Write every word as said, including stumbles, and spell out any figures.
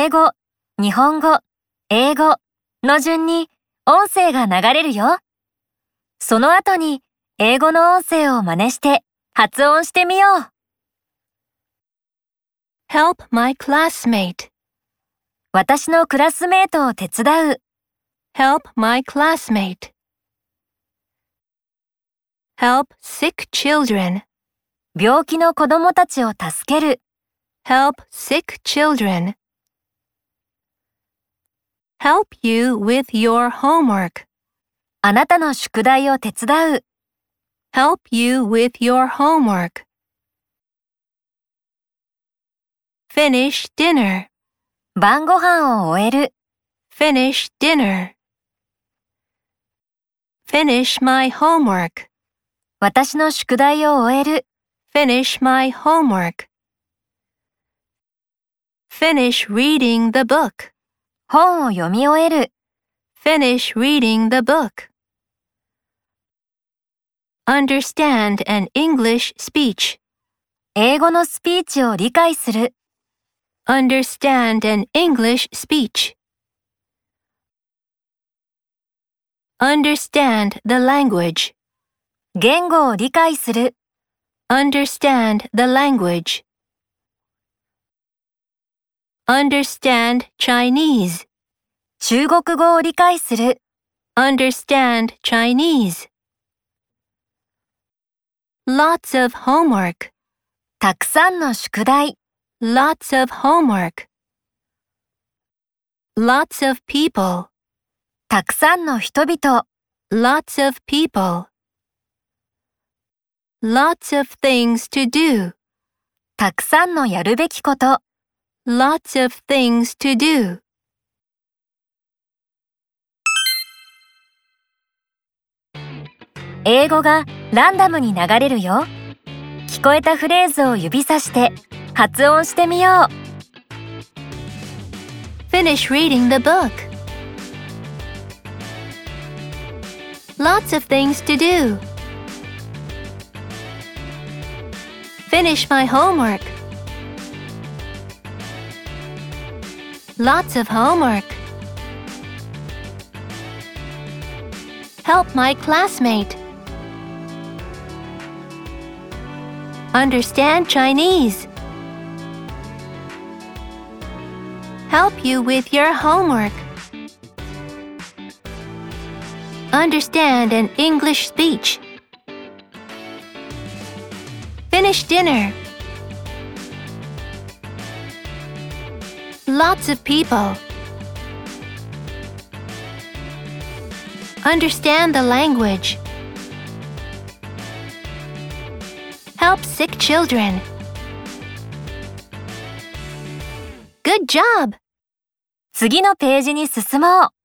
英語、日本語、英語の順に音声が流れるよ。その後に英語の音声を真似して発音してみよう。 Help my classmate. 私のクラスメートを手伝う。 Help my classmate. Help sick children. 病気の子供たちを助ける。 Help sick children. Help you with your homework. あなたの宿題を手伝う。 Help you with your homework. Finish dinner. 晩ご飯を終える。 Finish dinner. Finish my homework. 私の宿題を終える。 Finish my homework. Finish reading the book. 本を読み終える。 Finish reading the book. Understand an English speech. 英語のスピーチを理解する。 Understand an English speech. Understand the language. 言語を理解する。 Understand the language. Understand Chinese. 中国語を理解する。 Understand Chinese. Lots of homework. たくさんの宿題。 Lots of homework. Lots of people. たくさんの人々。 Lots of people. Lots of things to do. たくさんのやるべきこと。 Lots of things to do. 英語がランダムに流れるよ。聞こえたフレーズを指さして発音してみよう。 Finish reading the book. Lots of things to do. Finish my homework. Lots of homework. Help my classmate. Understand Chinese. Help you with your homework. Understand an English speech. Finish dinner. Lots of people. Understand the language. Help sick children. Good job! 次のページに進もう。